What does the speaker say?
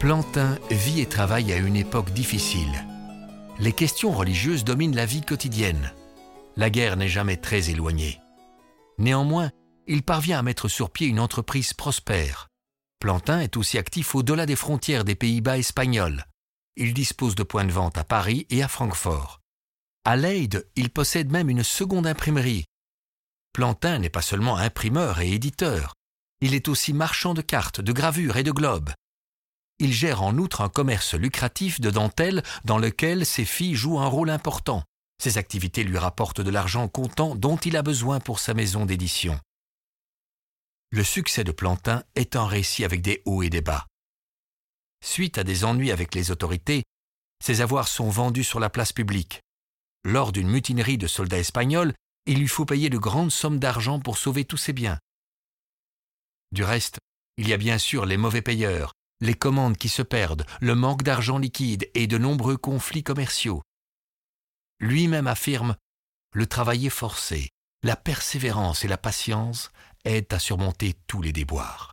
Plantin vit et travaille à une époque difficile. Les questions religieuses dominent la vie quotidienne. La guerre n'est jamais très éloignée. Néanmoins, il parvient à mettre sur pied une entreprise prospère. Plantin est aussi actif au-delà des frontières des Pays-Bas espagnols. Il dispose de points de vente à Paris et à Francfort. À Leyde, il possède même une seconde imprimerie. Plantin n'est pas seulement imprimeur et éditeur. Il est aussi marchand de cartes, de gravures et de globes. Il gère en outre un commerce lucratif de dentelle dans lequel ses filles jouent un rôle important. Ces activités lui rapportent de l'argent comptant dont il a besoin pour sa maison d'édition. Le succès de Plantin est un récit avec des hauts et des bas. Suite à des ennuis avec les autorités, ses avoirs sont vendus sur la place publique. Lors d'une mutinerie de soldats espagnols, il lui faut payer de grandes sommes d'argent pour sauver tous ses biens. Du reste, il y a bien sûr les mauvais payeurs, les commandes qui se perdent, le manque d'argent liquide et de nombreux conflits commerciaux. Lui-même affirme « Le travail est forcé, la persévérance et la patience aident à surmonter tous les déboires ».